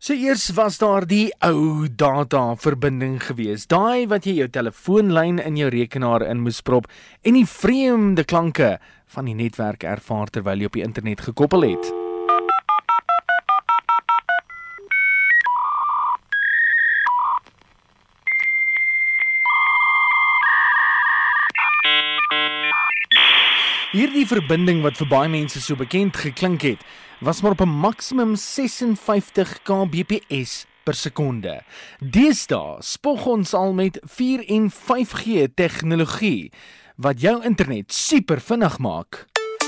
So eers was daar die ou data-verbinding gewees, daai wat jy jou telefoonlyn in jou rekenaar in moes prop en die vreemde klanke van die netwerk ervaar terwyl jy op die internet gekoppel het. Hierdie verbinding wat vir baie mense so bekend geklink het, was maar op 'n maksimum 56 kbps per sekonde. Deesdae spog ons al met 4 en 5G tegnologie wat jou internet super vinnig maak.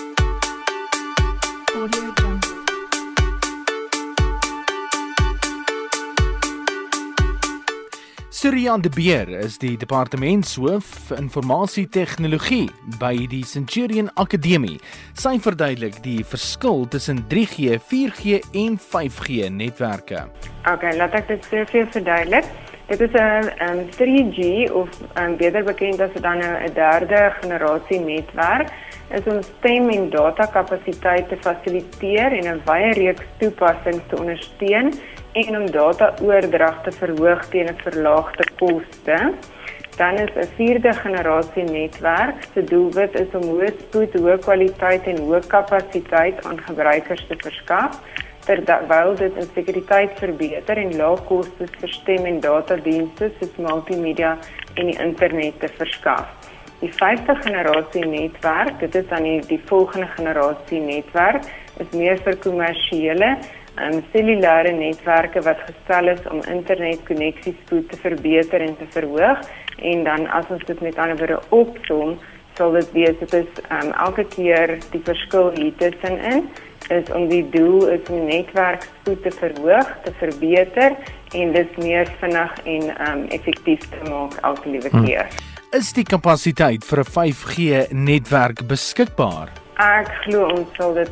Surya de Beer is die departementshoof informasietegnologie by die Centurion Akademie. Sy verduidelik die verskil tussen 3G, 4G en 5G netwerke. Okay, laat ek dit vir verduidelik. Dit is 'n 3G of beter bekend as dan 'n derde generasie netwerk. Is om stem en data kapasiteit te fasiliteer en 'n wye reeks toepassings te ondersteun en om data-oordrag te verhoog teen 'n verlaagde koste. Dan is 'n vierde generasie netwerk. Se doelwit is om hoë spoed, hoë kwaliteit en hoë kapasiteit aan gebruikers te verskaf, terwyl dit in sekuriteit verbeter en lae kostes vir stem en datadienste soos multimedia en die internet te verskaf. Die 5de generasie netwerk, dit is dan die volgende generasie netwerk, is meer vir kommersiële cellulêre netwerke wat gestel is om internetkonnektiespoed te verbeter en te verhoog. En dan as ons dit met ander woorde opsom, sal dit wees, dit is elke keer die verskil hier tussenin, is om die doel is om netwerkspoed te verhoog, te verbeter en dit meer vinnig en effektief te maak elke liewe keer. Is die kapasiteit vir 'n 5G netwerk beskikbaar? Ek glo ons sal dit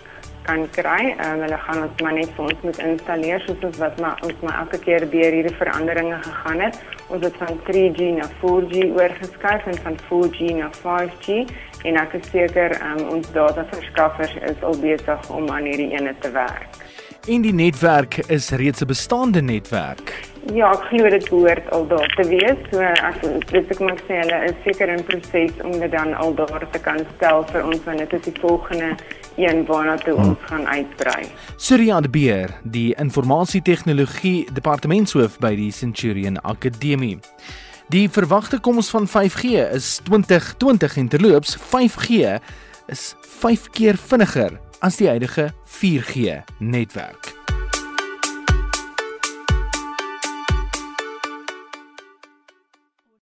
kan kry. Hulle gaan ons maar net vir ons moet installeer, soos wat ons elke keer deur hierdie veranderinge gegaan het. Ons het van 3G na 4G oorgeskuif en van 4G na 5G en ek is seker ons dataverskaffers is al besig om aan hierdie ene te werk. En die netwerk is reeds 'n bestaande netwerk. Ja, ek glo dit behoort al daar te wees. So ek mag sê hulle is seker in proses om dit dan al daar te kan stel vir ons, want dit is die volgende een waarna toe ons gaan uitbrei. Surya de Beer, die informasietegnologie departementshoof by die Centurion Akademie. Die verwagte koms van 5G is 2020 en terloops 5G is 5 keer vinniger as die huidige 4G netwerk.